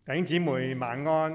弟兄姊妹晚安，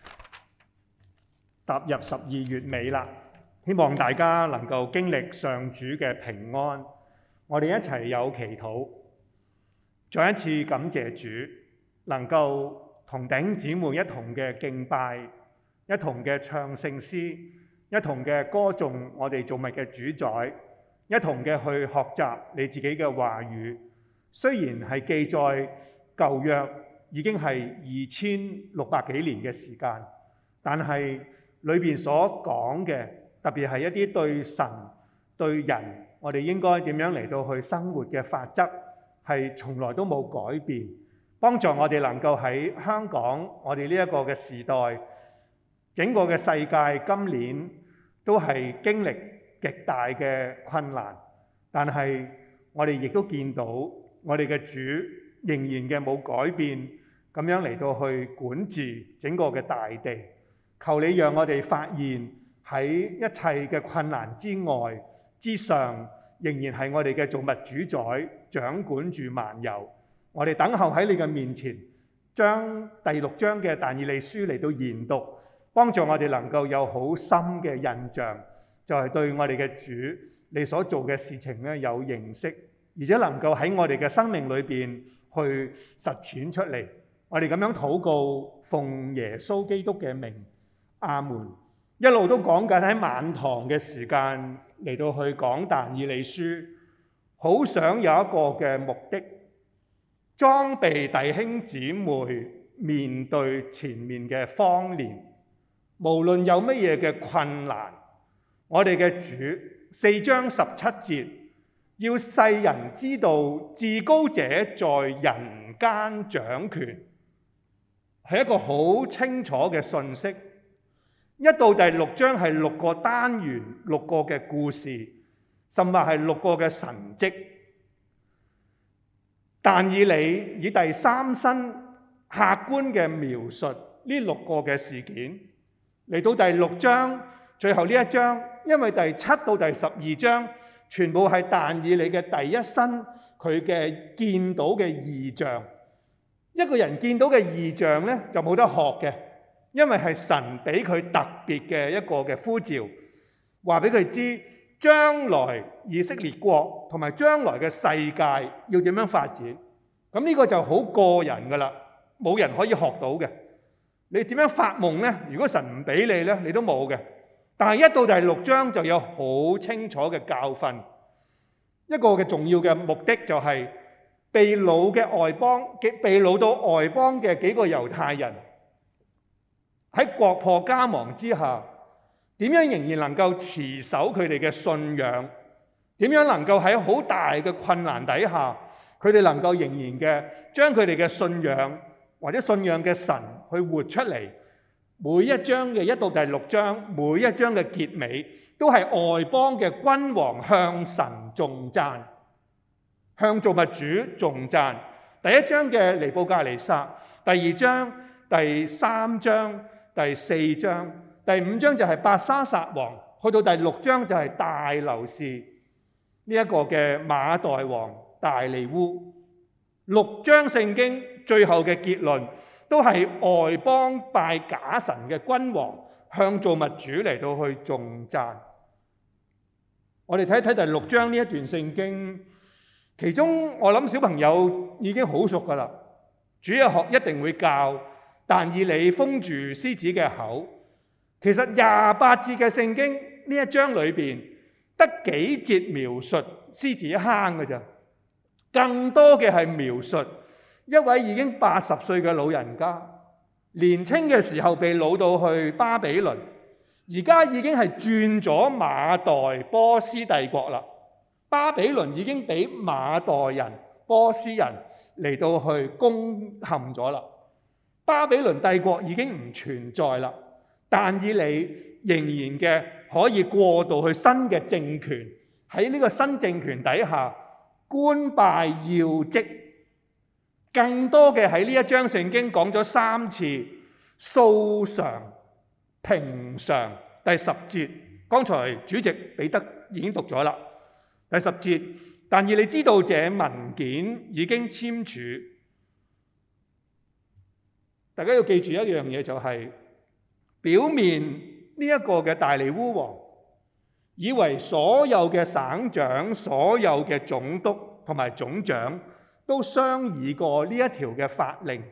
踏入12月尾啦，希望大家能夠經歷上主嘅平安。我哋一齊有祈禱，再一次感謝主，能夠同弟兄姊妹一同嘅敬拜，一同嘅唱聖詩，一同嘅歌頌我哋造物嘅主宰，一同嘅去學習你自己嘅話語。雖然係記載舊約，已經係2600幾年嘅時間，但係裏邊所講嘅，特別係一啲對神、對人，我哋應該點樣嚟到去生活嘅法則，係從來都冇改變，幫助我哋能夠喺香港，我哋呢一個嘅時代，整個嘅世界今年都係經歷極大嘅困難，但係我哋亦都見到我哋嘅主仍然嘅冇改變，咁樣嚟到去管治整個嘅大地。求你讓我哋發現喺一切嘅困難之外之上，仍然係我哋嘅造物主宰掌管住萬有。我哋等候喺你嘅面前，將第6章嘅但以理書嚟到研讀，幫助我哋能夠有好深嘅印象，就係對我哋嘅主你所做嘅事情咧有認識，而且能夠喺我哋嘅生命裏邊去實踐出嚟。我哋咁樣禱告，奉耶穌基督嘅名，阿門。一路都講緊喺晚堂嘅時間嚟到去講但以理書，好想有一個嘅目的，裝備弟兄姊妹面對前面嘅荒年。無論有乜嘢嘅困難，我哋嘅主4章17節，要世人知道至高者在人間掌權，係一個好清楚嘅信息。一到第6章係6個單元，6個嘅故事，甚至係6個嘅神蹟。但以理以第三身客觀嘅描述呢6個嘅事件，嚟到第6章最後呢一章，因為第7到第12章全部係但以理嘅第一身，佢嘅見到嘅異象。一個人見到嘅異象呢，就冇得學嘅，因為係神俾佢特別嘅一個嘅呼召，話俾佢知將來以色列國同埋將來嘅世界要點樣發展。咁呢個就好個人噶啦，冇人可以學到嘅。你點樣發夢呢？如果神唔俾你呢，你都冇嘅。但係一到第6章就有好清楚嘅教訓，一個嘅重要嘅目的就係被擄嘅外邦，被擄到外邦嘅幾個猶太人喺國破家亡之下，點樣仍然能夠持守佢哋嘅信仰？點樣能夠喺好大嘅困難底下，佢哋能夠仍然嘅將佢哋嘅信仰或者信仰嘅神去活出嚟？每一章嘅1到第6章，每一章嘅結尾都係外邦嘅君王向神頌讚，向造物主頌讚。第1章嘅尼布甲尼撒，第2章、第3章、第4章、第5章就係伯沙撒王，去到第6章就係大流士呢一個嘅馬代王大利烏。6章聖經最後嘅結論都係外邦拜假神嘅君王向造物主嚟到去頌讚。我哋睇一睇第6章呢一段聖經，其中我諗小朋友已經好熟噶啦。主日學一定會教但以理封住獅子嘅口。其實28節嘅聖經呢一章裏邊得幾節描述獅子坑嘅咋，更多嘅係描述一位已經80歲嘅老人家，年輕嘅時候被擄到去巴比倫，而家已經係轉咗馬代波斯帝國啦。巴比倫已經俾馬代人、波斯人嚟到去攻陷咗啦。巴比倫帝國已經唔存在啦，但以理仍然嘅可以過渡去新嘅政權，喺呢個新政權底下官拜要職。更多嘅喺呢一章聖經講咗3次素常、平常。第10節，剛才主席彼得已經讀咗啦。第10節，但以理知道這文件已經簽署。 大家要記住一樣嘢，就係表面呢一個嘅大利烏王，以為所有嘅省長、所有嘅總督同埋總長都商議過呢一條嘅法令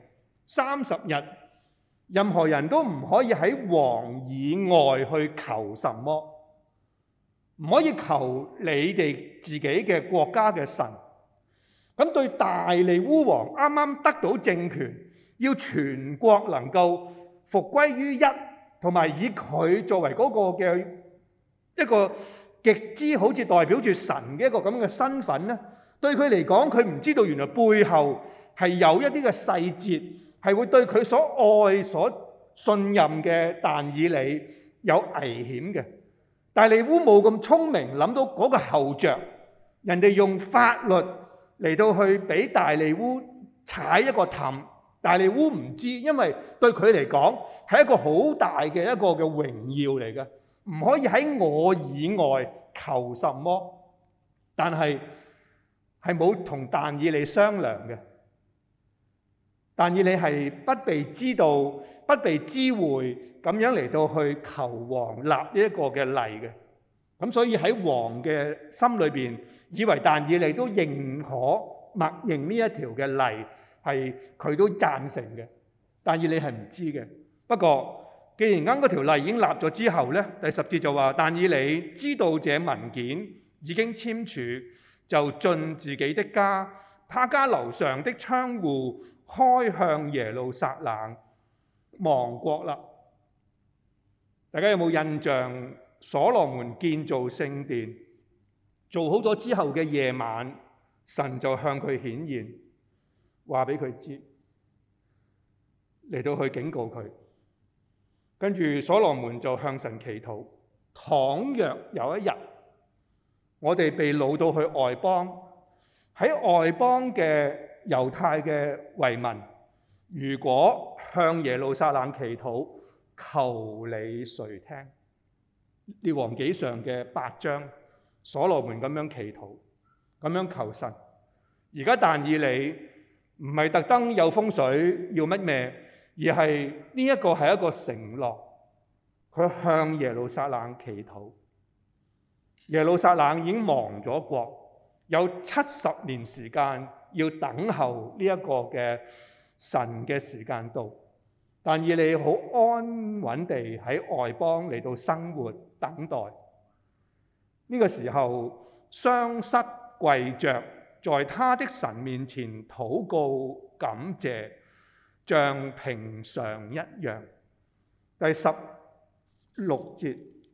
，30日任何人都唔可以喺王以外去求什麼，唔可以求你哋自己嘅國家嘅神。咁對大利烏王啱啱得到政權，要全國能夠復歸於一，同埋以佢作為嗰個嘅一個極之好似代表住神嘅一個咁嘅身份咧，對佢嚟講，佢唔知道原來背後係有一啲嘅細節，係會對佢所愛、所信任嘅但以理有危險嘅。大利烏冇咁聰明，諗到嗰個後著，人哋用法律嚟到去俾大利烏踩一個氹，大利烏唔知，因為對佢嚟講係一個好大嘅一個嘅榮耀嚟嘅，唔可以喺我以外求什麼。但係冇同但以理商量嘅，但以理係不被知道、不被知會咁樣嚟到去求王立呢一個嘅例嘅。咁所以喺王嘅心裏邊，以為但以理都認可默認呢一條嘅例，係佢都贊成嘅。但以理係唔知嘅。不過既然啱嗰條例已經立咗之後呢，第10節就話但以理知道這文件已經簽署，就進自己的家，他家樓上的窗戶開向耶路撒冷，亡國啦。大家有冇印象？所羅門建造聖殿做好咗之後嘅夜晚，神就向佢顯現，話俾佢知，嚟到去警告佢。跟住所羅門就向神祈禱，倘若有一日我哋被擄到去外邦，喺外邦嘅猶太嘅遺民，如果向耶路撒冷祈禱，求你垂聽。列王紀上嘅8章，所羅門咁樣祈禱，咁樣求神。而家但以理唔係特登有風水要乜咩，而係呢一個係一個承諾，佢向耶路撒冷祈禱。耶路撒冷已經亡咗國，有70年時間要等候呢一個嘅神嘅時間到。但以理好安穩地喺外邦嚟到生活等待。呢個時候，雙膝跪着在他的神面前禱告感謝，像平常一樣。第16節，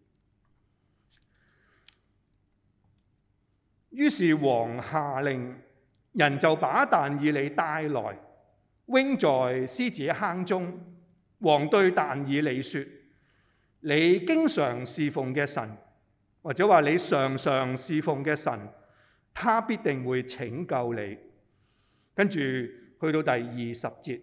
於是王下令，人就把但以理帶來，扔在獅子坑中。王對但以理說：你經常侍奉嘅神，或者話你常常侍奉嘅神，他必定會拯救你。跟住去到第20節，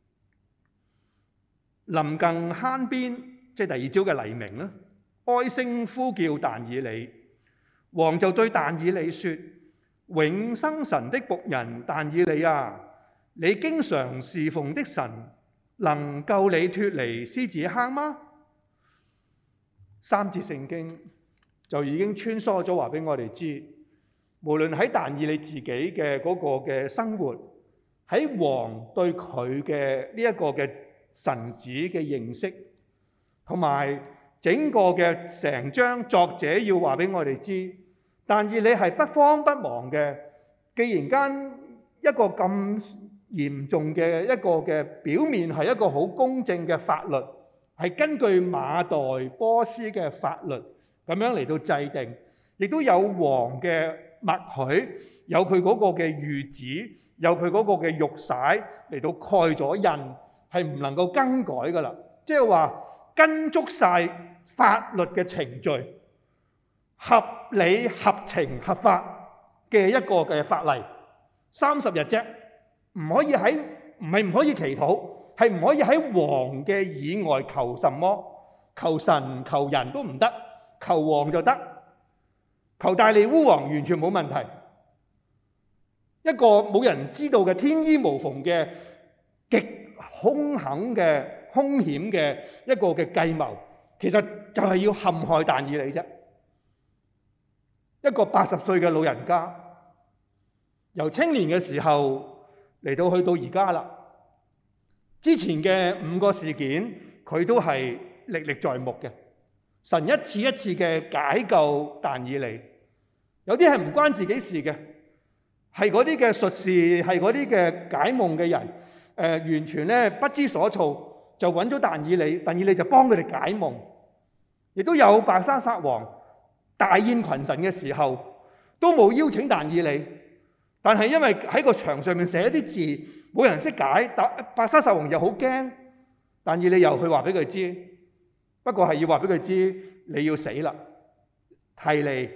臨近坑邊，即係第二朝嘅黎明啦，哀聲呼叫但以理。王就對但以理說：永生神的僕人但以理啊，你經常侍奉的神能救你脫離獅子坑嗎？3節聖經就已經穿梭咗話俾我哋知，無論喺但以理自己嘅嗰個嘅生活，喺王對佢嘅呢一個嘅神子嘅認識，同埋整個嘅成章作者要話俾我哋知，但以理係不慌不忙嘅。既然間一個咁嚴重嘅一個嘅表面係一個好公正嘅法律，係根據馬代波斯嘅法律咁樣嚟到制定，亦都有王嘅默許，有佢嗰個嘅諭旨，有佢嗰個嘅玉璽嚟到蓋咗印，係唔能夠更改噶啦。即係話跟足晒法律嘅程序，合理合情合法嘅一個嘅法例，30日啫。唔可以喺，唔係唔可以祈禱，係唔可以喺王嘅以外求什麼，求神求人都唔得，求王就得，求大利烏王完全冇問題。一個冇人知道嘅天衣無縫嘅極兇狠嘅、兇險嘅一個嘅計謀，其實就係要陷害但以理啫。一個80歲嘅老人家，由青年嘅時候嚟到去到而家啦。之前嘅5個事件，佢都係歷歷在目嘅。神一次一次嘅解救但以理，有啲係唔關自己事嘅，係嗰啲嘅術士，係嗰啲嘅解夢嘅人，完全咧不知所措，就揾咗但以理，但以理就幫佢哋解夢。亦都有伯沙撒王大宴群臣嘅時候，都冇邀請但以理，但係因為喺個牆上面寫一啲字，冇人識解，伯沙撒王又好驚，但以理又去話俾佢知，不過係要話俾佢知你要死啦，提尼、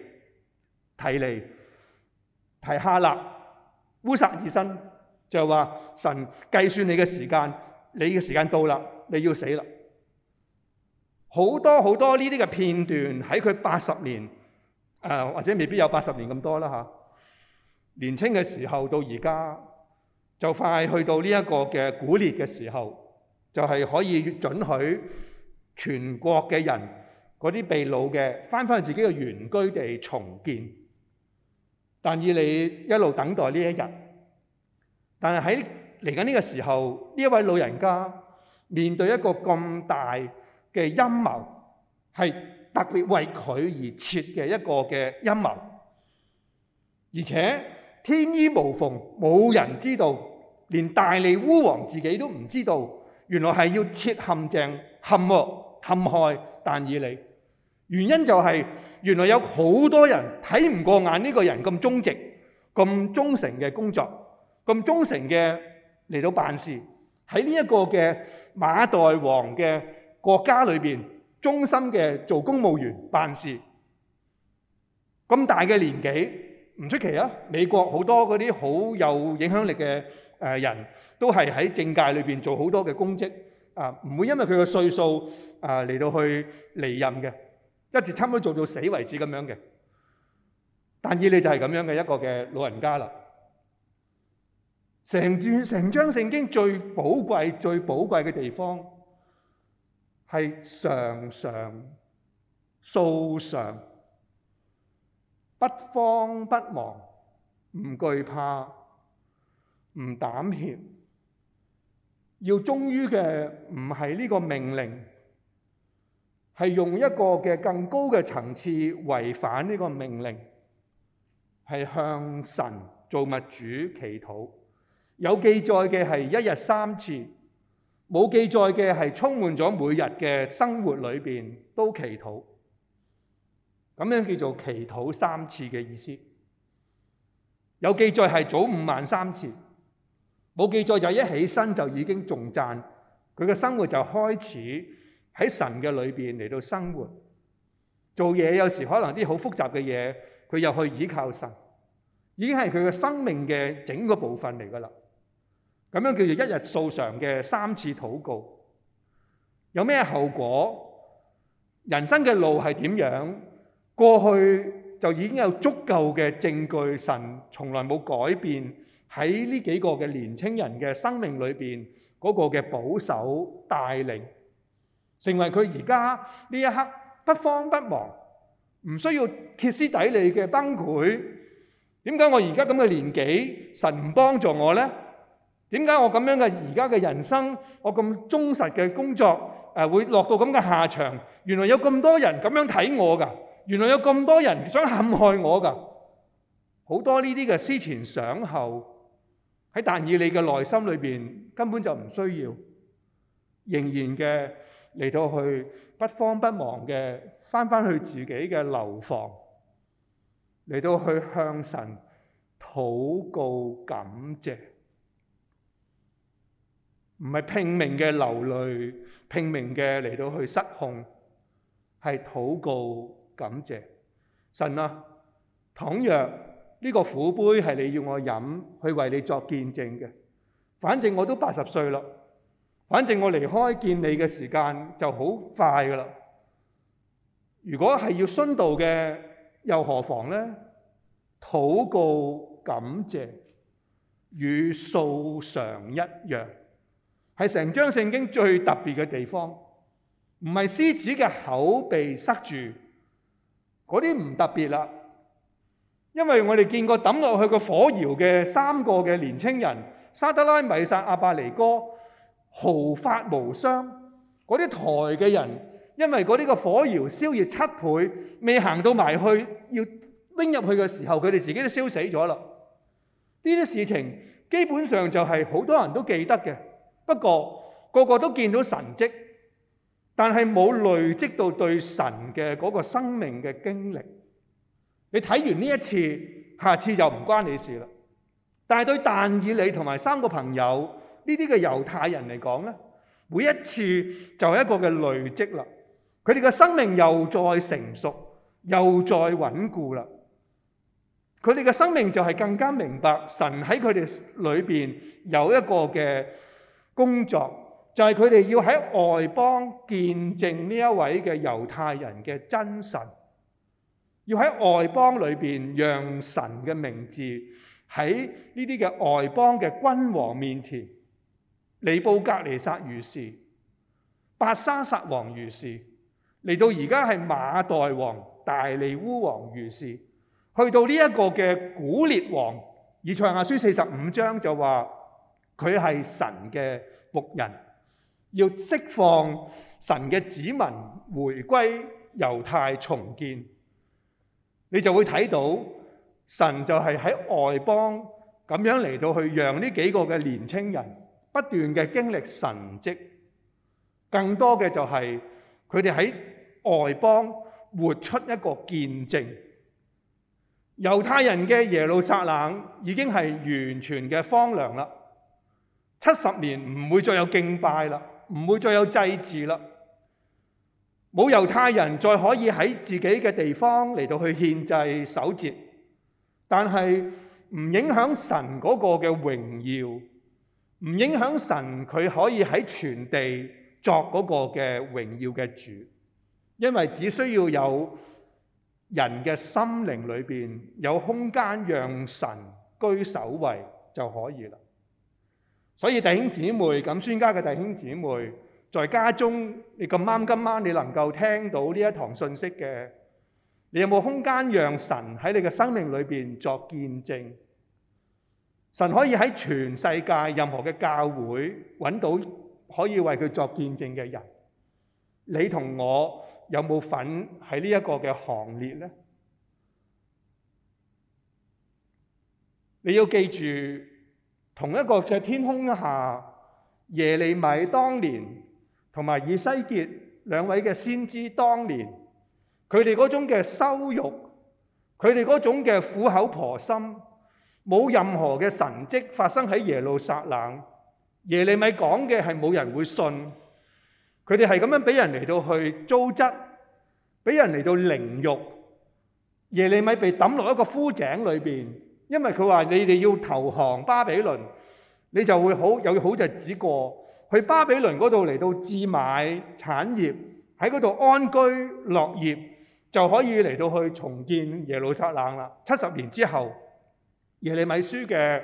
提哈勒、烏撒爾辛就話神計算你嘅時間，你嘅時間到啦，你要死啦。好多好多呢啲嘅片段喺佢80年，或者未必有80年咁多啦嚇。年青嘅時候到而家，就快去到呢一個嘅古列嘅時候，就係可以准許全國嘅人嗰啲被擄嘅翻返去自己嘅原居地重建。但以理一路等待呢一日，但係喺嚟緊呢個時候，呢一位老人家面對一個咁大嘅陰謀，係特別為佢而設嘅一個嘅陰謀，而且天衣無縫，冇人知道，連大利烏王自己都唔知道，原來係要設陷阱陷害但以理。原因就係原來有好多人睇唔過眼呢個人咁忠直、咁忠誠嘅工作，咁忠誠嘅嚟到辦事，喺呢一個嘅馬代王嘅國家裏邊，忠心嘅做公務員辦事。咁大嘅年紀唔出奇啊！美國好多嗰啲好有影響力嘅人都係喺政界裏邊做好多嘅公職啊，唔會因為佢嘅歲數嚟到去離任嘅。一直差唔多做到死為止咁樣嘅，但以理就係咁樣嘅一個嘅老人家啦。成章聖經最寶貴嘅地方係常常素常，不慌不忙，唔懼怕，唔膽怯。要忠於嘅唔係呢個命令，係用一個嘅更高嘅層次違反呢個命令，係向神造物主祈禱。有記載嘅係1日3次，冇記載嘅係充滿咗每日嘅生活裏邊都祈禱。咁樣叫做祈禱3次嘅意思。有記載係早午晚3次，冇記載就一起身就已經頌讚，佢嘅生活就開始喺神嘅裏邊嚟到生活，做嘢有時可能啲好複雜嘅嘢，佢又去倚靠神，已經係佢嘅生命嘅整個部分嚟噶啦。咁樣叫做1日素常嘅3次禱告，有咩後果？人生嘅路係點樣？過去就已經有足夠嘅證據，神從來冇改變喺呢幾個嘅年青人嘅生命裏邊嗰個嘅保守帶領。成為佢而家呢一刻不慌不忙，唔需要歇斯底里嘅崩潰。點解我而家咁嘅年紀，神唔幫助我呢？點解我咁樣嘅而家嘅人生，我咁忠實嘅工作，會落到咁嘅下場？原來有咁多人咁樣睇我㗎，原來有咁多人想陷害我㗎。好多呢啲嘅思前想後，喺但以理嘅內心裏邊根本就唔需要，仍然嘅。嚟到去不慌不忙嘅返去自己嘅樓房，嚟到去向神禱告感謝，唔係拼命嘅流淚，拼命嘅嚟到去失控，係禱告感謝神啊！倘若呢個苦杯係你要我飲，去為你作見證嘅，反正我都80歲啦。反正我離開見你嘅時間就好快噶啦。如果係要殉道嘅，又何妨呢？禱告感謝與素常一樣， 係成章聖經最特別嘅地方。唔係獅子嘅口被塞住，嗰啲唔特別啦。因為我哋見過抌落去個火窯嘅3個嘅年青人，沙得拉、米煞、亞伯尼歌，毫髮無傷。嗰啲抬嘅人，因為嗰啲個火窯燒熱7倍，未行到埋去要拎入去嘅時候，佢哋自己都燒死咗啦。呢啲事情基本上就係好多人都記得嘅，不過個個都見到神蹟，但係冇累積到對神嘅嗰個生命嘅經歷。你睇完呢一次，下次就唔關你事啦。但係對但以理同埋3個朋友呢啲嘅猶太人嚟講咧，每一次就係一個嘅累積啦。佢哋嘅生命又再成熟，又再穩固啦。佢哋嘅生命就係更加明白神喺佢哋裏邊有一個嘅工作，就係佢哋要喺外邦見證呢一位嘅猶太人嘅真神，要喺外邦裏邊讓神嘅名字喺呢啲嘅外邦嘅君王面前，尼布甲尼撒如是，伯沙撒王如是，嚟到而家係馬代王、大利烏王如是，去到呢一個嘅古列王，以賽亞書45章就話佢係神嘅僕人，要釋放神嘅子民回歸猶太重建。你就會睇到神就係喺外邦咁樣嚟到去讓呢幾個嘅年青人不斷嘅經歷神蹟，更多嘅就係佢哋喺外邦活出一個見證。猶太人嘅耶路撒冷已經係完全嘅荒涼啦，70年唔會再有敬拜啦，唔會再有祭祀啦。冇猶太人再可以喺自己嘅地方嚟到去獻祭守節，但係唔影響神嗰個嘅榮耀，唔影響神佢可以喺全地作嗰個嘅榮耀嘅主，因為只需要有人嘅心靈裏邊有空間讓神居首位就可以啦。所以弟兄姊妹，咁宣家嘅弟兄姊妹，在家中你咁啱今晚你能夠聽到呢一堂信息嘅，你有冇空間讓神喺你嘅生命裏邊作見證？神可以喺全世界任何嘅教會揾到可以為佢作見證嘅人，你同我有冇份喺呢一個嘅行列呢？你要記住，同一個嘅天空下，耶利米當年同埋以西結兩位嘅先知當年，佢哋嗰種嘅羞辱，佢哋嗰種嘅苦口婆心，冇任何嘅神蹟發生喺耶路撒冷。耶利米講嘅係冇人會信，佢哋係咁樣俾人嚟到去糟質，俾人嚟到凌辱。耶利米被抌落一個枯井裏邊，因為佢話你哋要投降巴比倫，你就會有好日子過。去巴比倫嗰度嚟到置買產業，喺嗰度安居樂業，就可以嚟到去重建耶路撒冷啦。70年之後，耶利米書嘅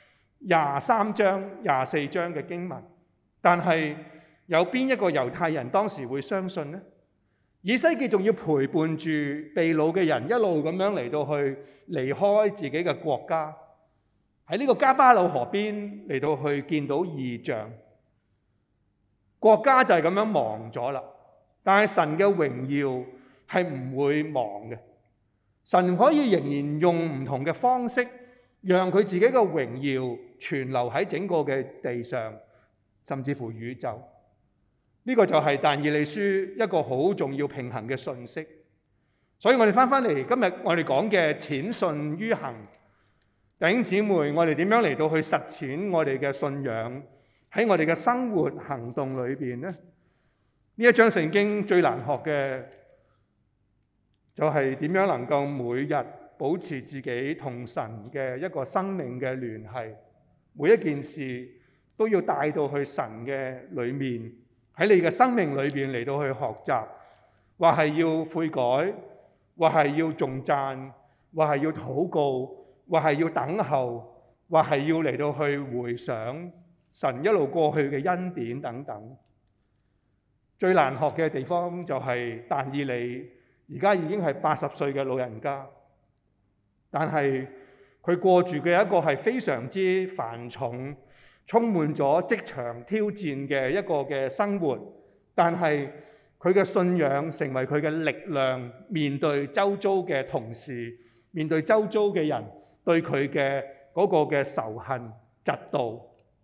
23章、24章嘅經文，但係有邊一個猶太人當時會相信呢？以西結仲要陪伴住被擄嘅人一路咁樣嚟到去離開自己嘅國家，喺呢個加巴魯河邊嚟到去見到異象。國家就係咁樣亡咗啦，但係神嘅榮耀係唔會亡嘅。神可以仍然用唔同嘅方式，讓佢自己嘅榮耀存留喺整個嘅地上，甚至乎宇宙。呢個就係但以理書一個好重要平衡嘅信息。所以我哋翻嚟今日我哋講嘅淺信於行，弟兄姊妹，我哋點樣嚟到去實踐我哋嘅信仰？喺我哋嘅生活行動裏邊咧，呢一章聖經最難學嘅就係點樣能夠每日保持自己同神嘅一個生命嘅聯繫，每一件事都要帶到去神嘅裏面，喺你嘅生命裏邊嚟到去學習，或係要悔改，或係要頌讚，或係要禱告，或係要等候，或係要嚟到去回想。 神一路過去嘅恩典等等。最難學嘅地方就係但以理而家已經係80歲嘅老人家，但係佢過住嘅一個係非常之繁重、充滿咗職場挑戰嘅一個嘅生活，但係佢嘅信仰成為佢嘅力量，面對周遭嘅同事，面對周遭嘅人對佢嘅嗰個嘅仇恨、嫉妒，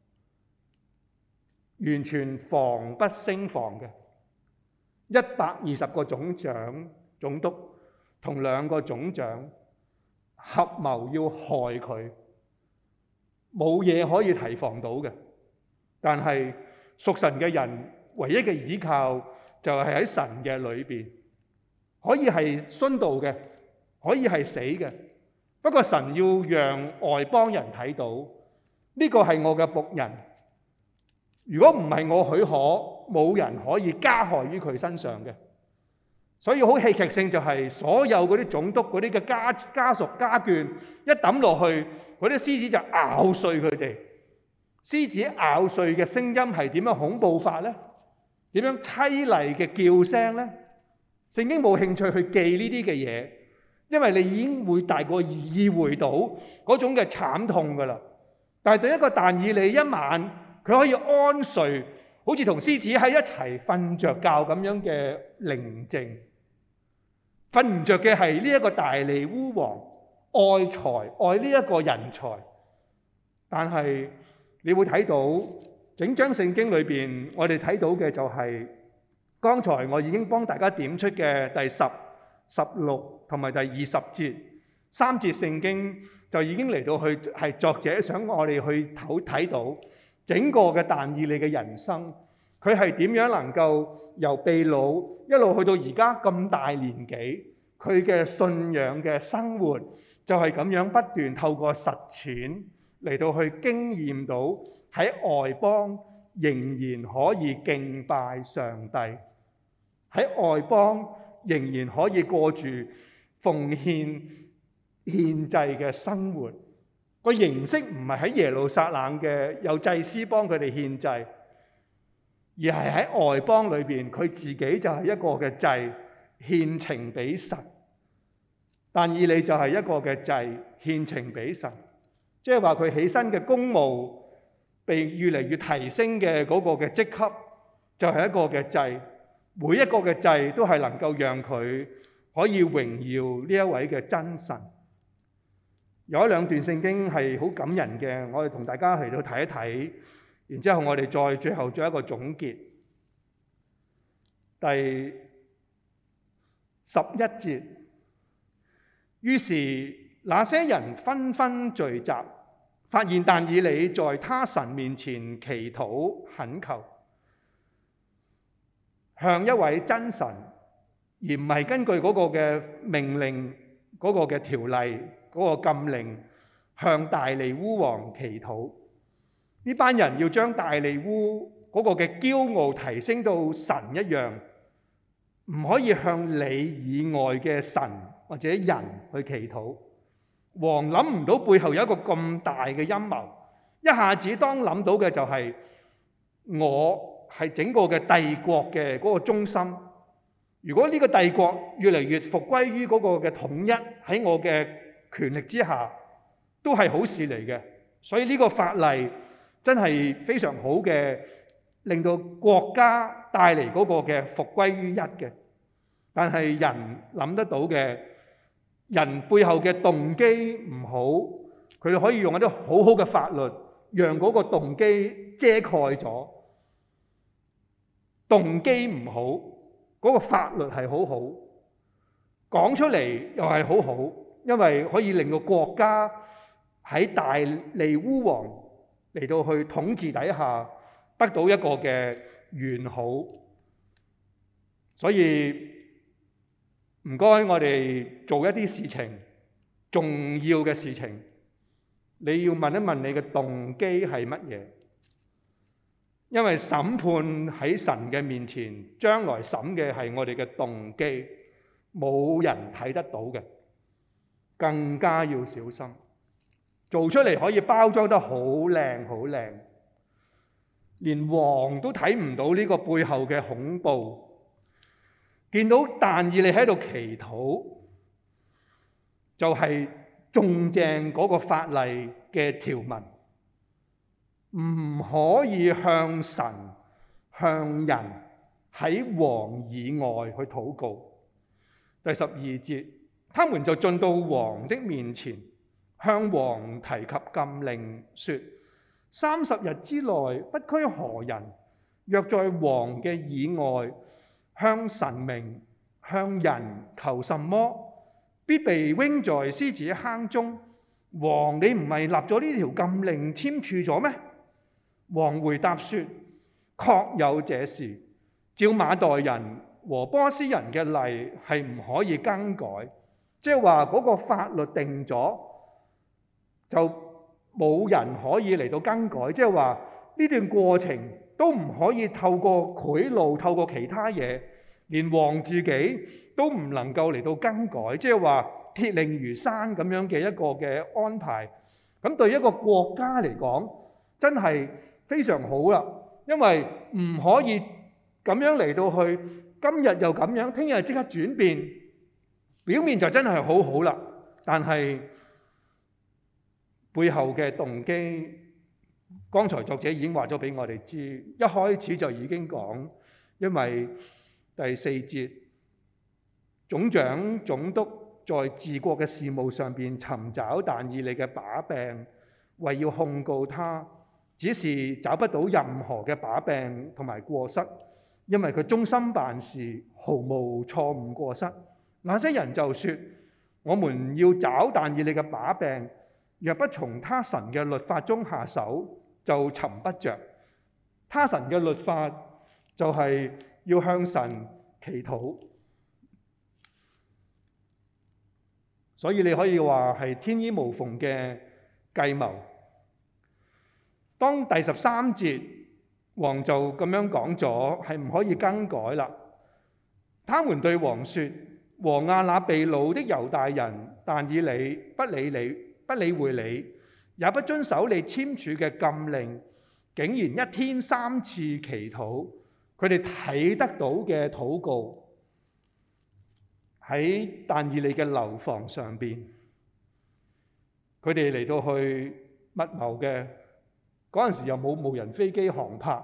完全防不勝防嘅。120個總長、總督同2個總長合謀要害佢，冇嘢可以提防到嘅。但係屬神嘅人唯一嘅依靠就係喺神嘅裏邊，可以係殉道嘅，可以係死嘅。不過神要讓外邦人睇到呢個係我嘅僕人。如果唔係我許可，冇人可以加害於佢身上嘅。所以好戲劇性就係所有嗰啲總督嗰啲嘅家屬家眷一抌落去，嗰啲獅子就咬碎佢哋。獅子咬碎嘅聲音係點樣恐怖法呢？點樣淒厲嘅叫聲呢？聖經冇興趣去記呢啲嘅嘢，因為你已經會大過意會到嗰種嘅慘痛㗎啦。但係對一個但以理一晚，佢可以安睡，好似同獅子喺一齊瞓着覺咁樣嘅寧靜。瞓唔着嘅係呢一個大利烏王愛財愛呢一個人才，但係你會睇到整章聖經裏邊，我哋睇到嘅就係剛才我已經幫大家點出嘅第10、16同埋第20節3節聖經就已經嚟到去係作者想我哋去睇到。整個嘅但以理嘅人生，佢係點樣能夠由被擄一路去到而家咁大年紀，佢嘅信仰嘅生活就係咁樣不斷透過實踐嚟到去經驗到喺外邦仍然可以敬拜上帝，喺外邦仍然可以過住奉獻獻祭嘅生活。個形式唔係喺耶路撒冷嘅有祭司幫佢哋獻祭，而係喺外邦裏邊，佢自己就係一個嘅祭，獻情俾神。但以理就係一個嘅祭，獻情俾神，即係話佢起身嘅公務被越嚟越提升嘅嗰個嘅職級，就係一個嘅祭。每一個嘅祭都係能夠讓佢可以榮耀呢一位嘅真神。有一兩段聖經係好感人嘅，我哋同大家嚟到睇一睇，然之後我哋再最後做一個總結。第11節，於是那些人紛紛聚集，發現但以理在他神面前祈禱懇求，向一位真神，而唔係根據嗰個嘅命令、嗰個嘅條例、嗰個禁令，向大利烏王祈禱。呢班人要將大利烏嗰個嘅驕傲提升到神一樣，唔可以向你以外嘅神或者人去祈禱。王諗唔到背後有一個咁大嘅陰謀，一下子當諗到嘅就係我係整個嘅帝國嘅嗰個中心。如果呢個帝國越嚟越復歸於嗰個嘅統一，喺我嘅權力之下，都係好事嚟嘅。所以呢個法例真係非常好嘅，令到國家帶嚟嗰個嘅復歸於一嘅。但係人諗得到嘅，人背後嘅動機唔好，佢哋可以用一啲好好嘅法律，讓嗰個動機遮蓋咗。動機唔好，嗰個法律係好好，講出嚟又係好好，因為可以令到國家喺大利烏王嚟到去統治底下得到一個嘅完好。所以唔該，我哋做一啲事情，重要嘅事情，你要問一問你嘅動機係乜嘢？因為審判喺神嘅面前，將來審嘅係我哋嘅動機，冇人睇得到嘅，更加要小心。做出嚟可以包裝得好靚好靚， 連王都睇唔到呢個背後嘅恐怖，見到但以理喺度祈禱，就係中正嗰個法例嘅條文，唔可以向神、向人喺王以外去禱告。第12節，他們就進到王的面前，向王提及禁令，說：30日之內，不拘何人，若在王嘅以外，向神明、向人求什麼，必被扔在獅子坑中。王，你唔係立咗呢條禁令簽署咗咩？王回答說：確有這事，照馬代人和波斯人嘅例係唔可以更改，即係話嗰個法律定咗，就冇人可以嚟到更改。即係話呢段過程都唔可以透過賄賂、透過其他嘢，連王自己都唔能夠嚟到更改。即係話鐵令如山咁樣嘅一個嘅安排。咁對一個國家嚟講，真係非常好啦，因為唔可以咁樣嚟到去，今日又咁樣，聽日即刻轉變，表面就真係好好啦，但係背後嘅動機，剛才作者已經話咗俾我哋知，一開始就已經講，因為第4節，總長總督在治國嘅事務上邊尋找但以理嘅把柄，為要控告他，只是找不到任何嘅把柄同埋過失，因為佢忠心辦事，毫無錯誤過失。那些人就說：我們要找但以理嘅把柄，若不從他神嘅律法中下手，就尋不着。他神嘅律法就係要向神祈禱，所以你可以話係天衣無縫嘅計謀。當第13節，王就咁樣講咗，係唔可以更改啦。他們對王說：和亞那被擄的猶大人但以理不理會你，也不遵守你簽署嘅禁令，竟然一天3次祈禱。佢哋睇得到嘅禱告喺但以理嘅樓房上邊，佢哋嚟到去密謀嘅。嗰陣時又冇無人飛機航拍，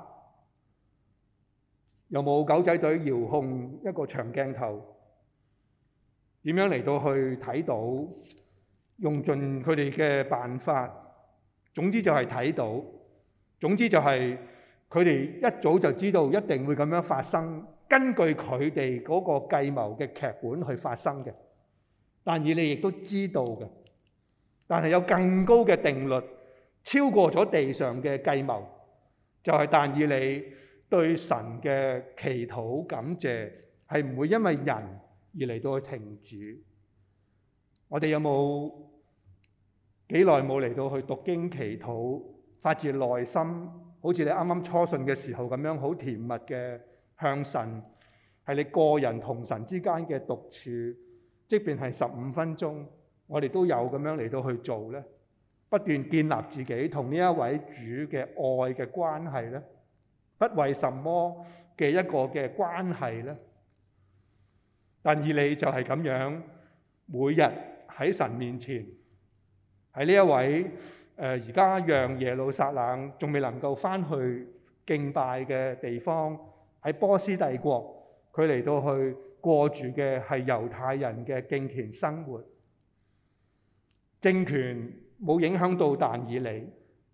又冇狗仔隊遙控一個長鏡頭，點樣嚟到去睇到，用盡佢哋嘅辦法，總之就係睇到，總之就係佢哋一早就知道一定會咁樣發生，根據佢哋嗰個計謀嘅劇本去發生嘅。但以理亦都知道嘅，但係有更高嘅定律，超過咗地上嘅計謀，就係但以理對神嘅祈禱感謝係唔會因為人而嚟到去停止。我哋有冇幾耐冇嚟到去讀經祈禱，發自內心，好似你啱啱初信嘅時候咁樣，好甜蜜嘅向神，係你個人同神之間嘅獨處，即便係15分鐘，我哋都有咁樣嚟到去做呢？不斷建立自己同呢一位主嘅愛嘅關係呢，不為什麼嘅一個嘅關係呢？但以理就係咁樣，每日喺神面前，喺呢一位而家讓耶路撒冷仲未能夠翻去敬拜嘅地方，喺波斯帝國，佢嚟到去過住嘅係猶太人嘅敬虔生活，政權冇影響到但以理。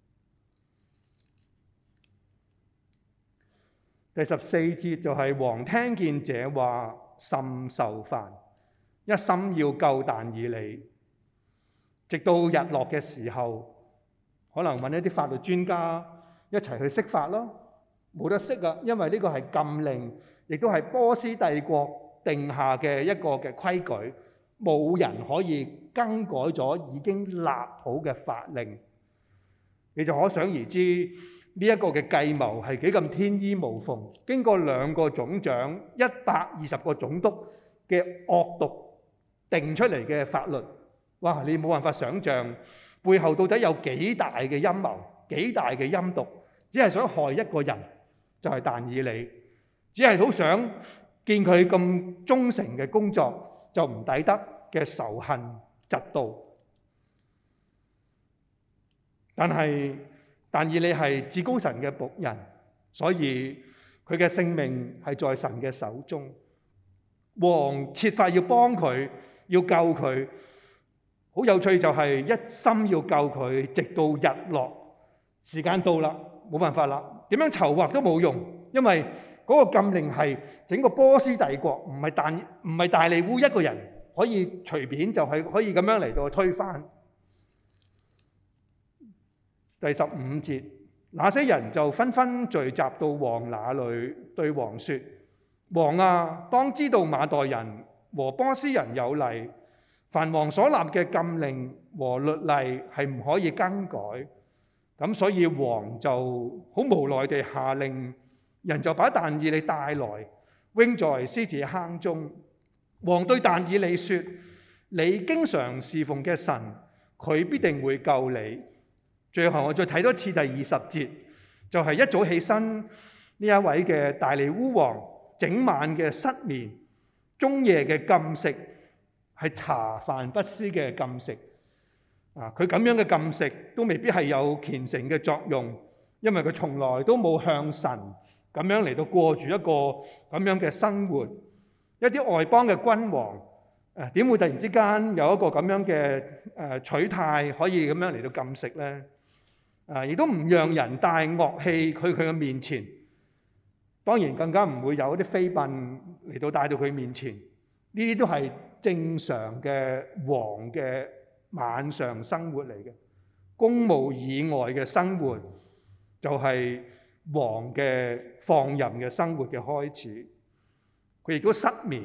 第14節就係王聽見這話，甚受煩，一心要救但以理。直到日落嘅時候，可能揾一啲法律專家一齊去釋法咯。冇得釋啊，因為呢個係禁令，亦都係波斯帝國定下嘅一個嘅規矩。冇人可以更改咗已經立好嘅法令，你就可想而知呢一個嘅計謀係幾咁天衣無縫。經過2個總長、120個總督嘅惡毒定出嚟嘅法律，哇！你冇辦法想像背後到底有幾大嘅陰謀、幾大嘅陰毒， 只係想害一個人，就係但以理，只係好想見佢咁忠誠嘅工作，就唔抵得嘅仇恨嫉妒。但係但以理係至高神嘅僕人，所以佢嘅性命係在神嘅手中。王設法要幫佢，要救佢。好有趣就係一心要救佢，直到日落。時間到啦，冇辦法啦，點樣籌劃都冇用，因為嗰個禁令係整個波斯帝國，唔係大利烏一個人可以隨便就係可以咁樣嚟到推翻。第15節，那些人就紛紛聚集到王那裡，對王說：王啊，當知道馬代人和波斯人有例，凡王所立嘅禁令和律例係唔可以更改。咁所以王就好無奈地下令，人就把但以理帶來，扔在獅子坑中。王對但以理說：你經常侍奉嘅神，佢必定會救你。最後我再睇多次第20節，就係一早起身呢一位嘅大利烏王，整晚嘅失眠，終夜嘅禁食，係茶飯不思嘅禁食。佢咁樣嘅禁食都未必係有虔誠嘅作用，因為佢從來都冇向神咁樣嚟到過住一個咁樣嘅生活。一啲外邦嘅君王點會突然之間有一個咁樣嘅取態，可以咁樣嚟到禁食呢？亦都唔讓人帶樂器去佢嘅面前，當然更加唔會有一啲妃嬪嚟到帶到佢面前。呢啲都係正常嘅王嘅晚上生活嚟嘅，公務以外嘅生活就係王嘅放任嘅生活嘅開始。佢亦都失眠。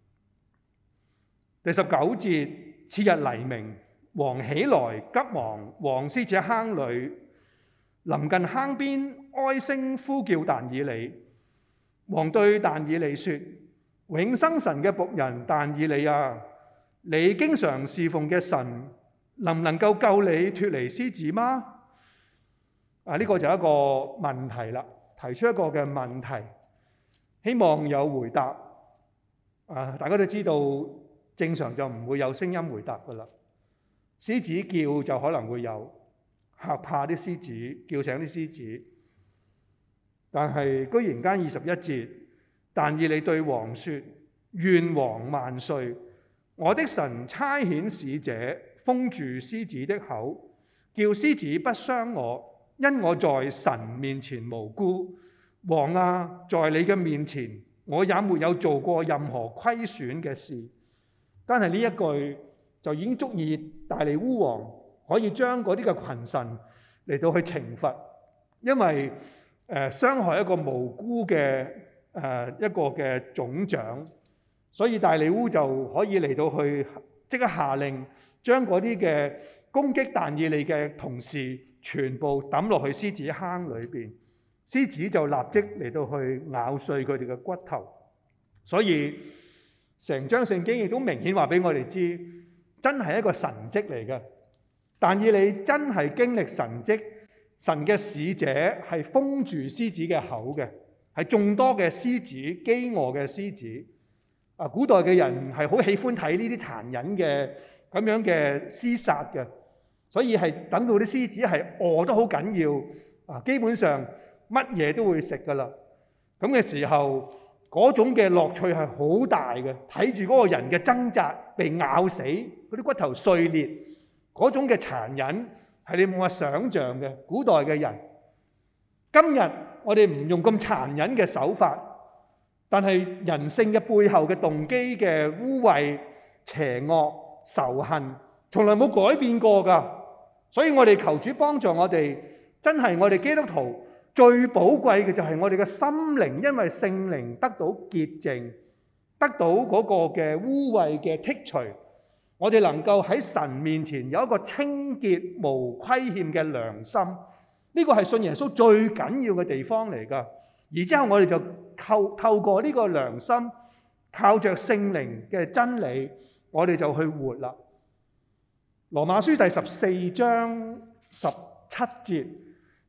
第19節，次日黎明，王起來急忙往獅子坑裡，臨近坑邊，哀聲呼叫但以理。王對但以理說：永生神嘅僕人但以理啊，你經常侍奉嘅神能唔能夠救你脫離獅子嗎？呢個就係一個問題啦，提出一個嘅問題，希望有回答。大家都知道正常就唔會有聲音回答噶啦，獅子叫就可能會有，嚇怕啲獅子，叫醒啲獅子。但係居然間21節，但以理對王說：願王萬歲！我的神差遣使者封住獅子的口，叫獅子不傷我，因我在神面前無辜。王啊，在你嘅面前，我也沒有做過任何虧損嘅事。但係呢一句就已經足以大利烏王可以將嗰啲嘅群臣嚟到去懲罰，因為傷害一個無辜嘅一個嘅總長，所以大利烏就可以嚟到去即刻下令，將嗰啲嘅攻擊但以理嘅同事全部抌落去獅子坑裏邊，獅子就立即嚟到去咬碎佢哋嘅骨頭。所以成章聖經亦都明顯話俾我哋知，真係一個神蹟嚟嘅。但以理真係經歷神蹟，神嘅使者係封住獅子嘅口嘅，係眾多嘅獅子，飢餓嘅獅子。古代嘅人係好喜歡睇呢啲殘忍嘅咁樣嘅廝殺嘅，所以係等到啲獅子係餓得好緊要，基本上乜嘢都會食噶啦。咁嘅時候，嗰種嘅樂趣係好大嘅，睇住嗰個人嘅掙扎被咬死，嗰啲骨頭碎裂，嗰種嘅殘忍係你冇法想像嘅。古代嘅人，今日我哋唔用咁殘忍嘅手法，但係人性嘅背後嘅動機嘅污穢、邪惡、仇恨，從來冇改變過㗎。所以我哋求主幫助我哋，真係我哋基督徒最寶貴嘅就係我哋嘅心靈，因為聖靈得到潔淨，得到嗰個嘅污穢嘅剔除，我哋能夠喺神面前有一個清潔無虧欠嘅良心。呢個係信耶穌最緊要嘅地方嚟㗎。而之後我哋就透過呢個良心，靠着聖靈嘅真理，我哋就去活啦。羅馬書第14章17節，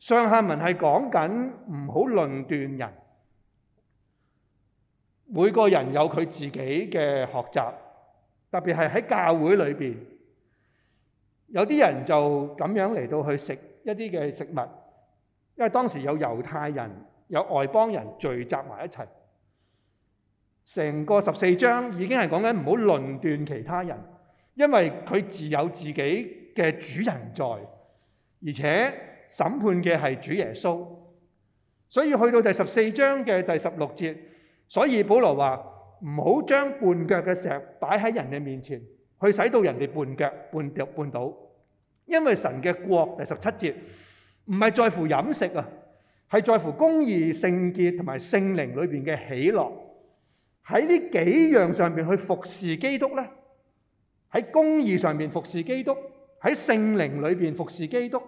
上下文係講緊唔好論斷人，每個人有佢自己嘅學習，特別係喺教會裏邊，有啲人就咁樣嚟到去食一啲嘅食物，因為當時有猶太人、有外邦人聚集埋一齊，成個14章已經係講緊唔好論斷其他人，因為佢自有自己嘅主人在，而且審判嘅係主耶穌。所以去到第14章嘅第16節，所以保羅話唔好將絆腳嘅石擺喺人嘅面前，去使到人哋絆腳絆倒。因為神嘅國，第17節唔係在乎飲食啊，係在乎公義、聖潔同埋聖靈裏邊嘅喜樂。喺呢幾樣上邊去服侍基督咧，喺公義上邊服侍基督，喺聖靈裏邊服侍基督，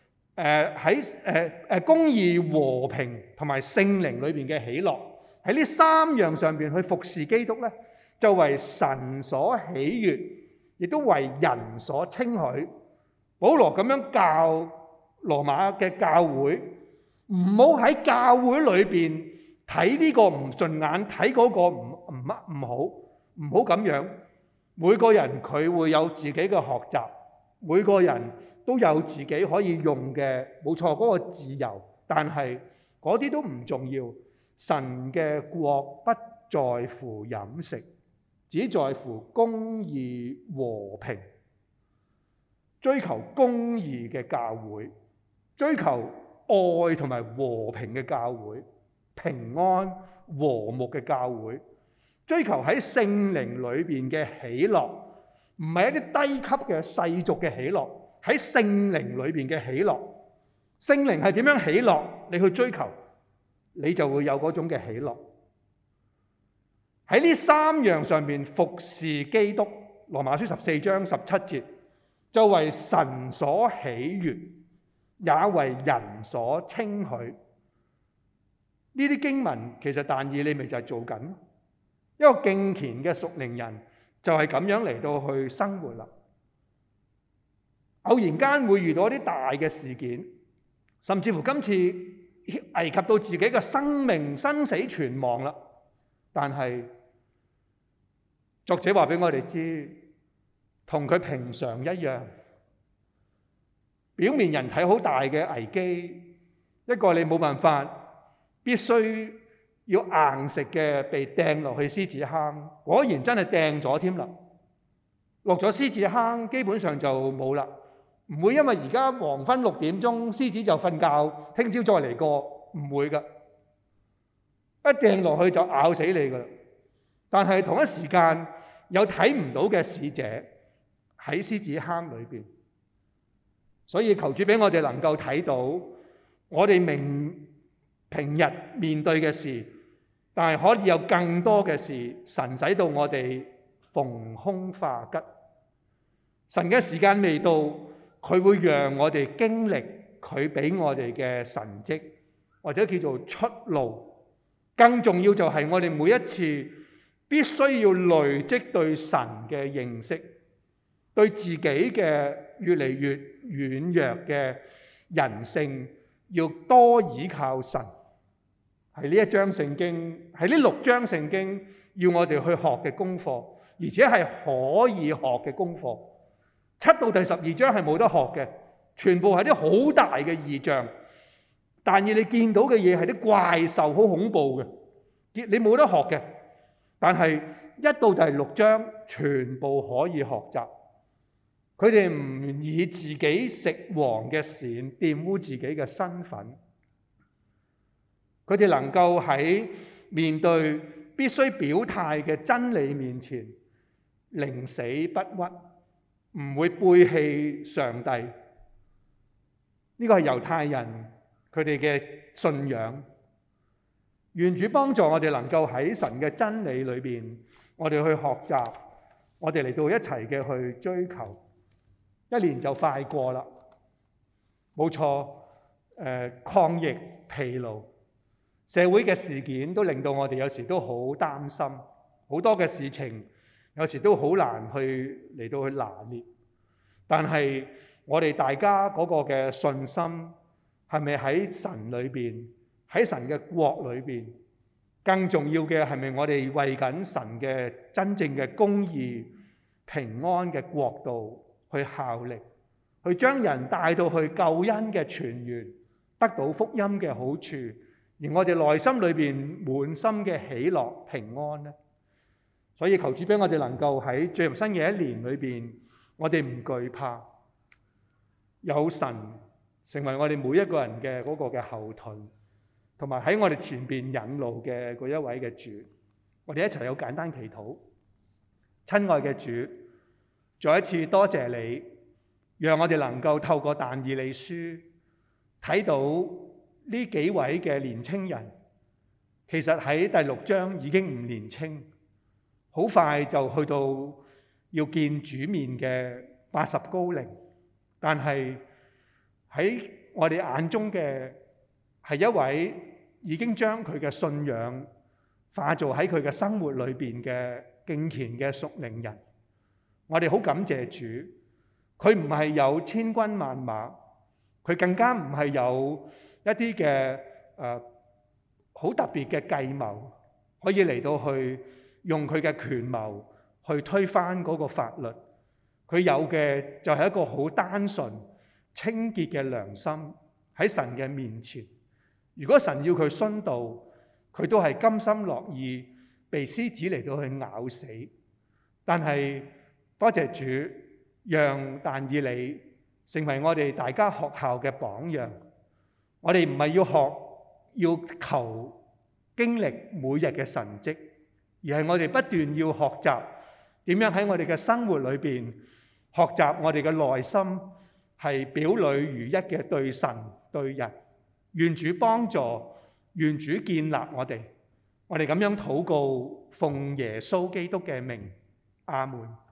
喺公義、和平同埋聖靈裏邊嘅喜樂，喺呢3樣上邊去服侍基督咧，就為神所喜悅，亦都為人所稱許。保羅咁樣教羅馬嘅教會，唔好喺教會裏邊睇呢個唔順眼，睇嗰個唔好，唔好咁樣。每個人佢會有自己嘅學習，每個人都有自己可以用嘅，冇錯嗰個自由。但係嗰啲都唔重要。神嘅國不在乎飲食，只在乎公義和平。追求公義嘅教會，追求愛同埋和平嘅教會，平安和睦嘅教會，追求喺聖靈裏邊嘅喜樂，唔係一啲低級嘅世俗嘅喜樂，喺聖靈裏邊嘅喜樂。聖靈係點樣喜樂？你去追求，你就會有嗰種嘅喜樂。喺呢3樣上面服侍基督，羅馬書14章17節。就為神所喜悅，也為人所稱許。呢啲經文其實但以理咪就係做緊一個敬虔嘅屬靈人，就係咁樣嚟到去生活啦。偶然間會遇到一啲大嘅事件，甚至乎今次危及到自己嘅生命生死存亡啦。但係作者話俾我哋知，同佢平常一樣，表面人睇好大嘅危機，一個你冇辦法，必須要硬食嘅被掟落去獅子坑，果然真係掟咗添啦。落咗獅子坑，基本上就冇啦，唔會因為而家黃昏6點鐘，獅子就瞓覺，聽朝再嚟過，唔會噶，一掟落去就咬死你噶啦。但係同一時間有睇唔到嘅使者喺獅子坑裏邊，所以求主俾我哋能夠睇到我哋平日面對嘅事，但係可以有更多嘅事，神使到我哋逢凶化吉。神嘅時間未到，佢會讓我哋經歷佢俾我哋嘅神蹟，或者叫做出路。更重要就係我哋每一次必須要累積對神嘅認識，對自己嘅越嚟越軟弱嘅人性，要多倚靠神。係呢一章聖經，係呢6章聖經要我哋去學嘅功課，而且係可以學嘅功課。7到第12章係冇得學嘅，全部係啲好大嘅異象。但係你見到嘅嘢係啲怪獸，好恐怖嘅，你冇得學嘅。但係1到第6章全部可以學習。佢哋唔以自己食王嘅善玷污自己嘅身份，佢哋能夠喺面對必須表態嘅真理面前，寧死不屈，唔會背棄上帝。呢個係猶太人佢哋嘅信仰。願主幫助我哋能夠喺神嘅真理裏邊，我哋去學習，我哋嚟到一齊嘅去追求。1年就快過啦，冇錯。抗疫疲勞，社會嘅事件都令到我哋有時都好擔心，好多嘅事情有時都好難嚟到去拿捏。但係我哋大家嗰個嘅信心， 係咪喺神裏邊，喺神嘅國裏邊？更重要嘅係咪我哋為緊神嘅真正嘅公義、平安嘅國度去效力，去將人帶到去救恩嘅泉源，得到福音嘅好處，而我哋內心裏邊滿心嘅喜樂平安呢？所以求主俾我哋能夠喺進入新嘅一年裏邊，我哋唔懼怕，有神成為我哋每一個人嘅嗰個嘅後盾，同埋喺我哋前邊引路嘅嗰一位嘅主。我哋一齊有簡單祈禱。親愛嘅主，再一次多謝你，讓我哋能夠透過但以理書睇到呢幾位嘅年青人，其實喺第6章已經唔年青，好快就去到要見主面嘅80高齡，但係喺我哋眼中嘅係一位已經將佢嘅信仰化做喺佢嘅生活裏邊嘅敬虔嘅屬靈人。我哋好感謝主，佢唔係有千軍萬馬，佢更加唔係有一啲嘅好特別嘅計謀，可以嚟到去用佢嘅權謀去推翻嗰個法律。佢有嘅就係一個好單純清潔嘅良心喺神嘅面前。如果神要佢殉道，佢都係甘心樂意被獅子嚟到去咬死。但係多謝主，讓但以理成為我哋大家學校嘅榜樣。我哋唔係要學，要求經歷每日嘅神蹟，而係我哋不斷要學習點樣喺我哋嘅生活裏邊學習我哋嘅內心係表裏如一嘅對神對人。願主幫助，願主建立我哋。我哋咁樣禱告，奉耶穌基督嘅名，阿門。